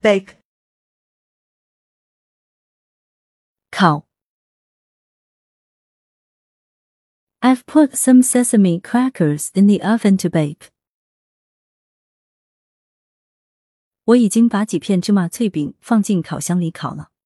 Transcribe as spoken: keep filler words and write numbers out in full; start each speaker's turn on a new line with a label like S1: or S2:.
S1: bake,
S2: 烤。I've put some sesame crackers in the oven to bake. 我已经把几片芝麻脆饼放进烤箱里烤了。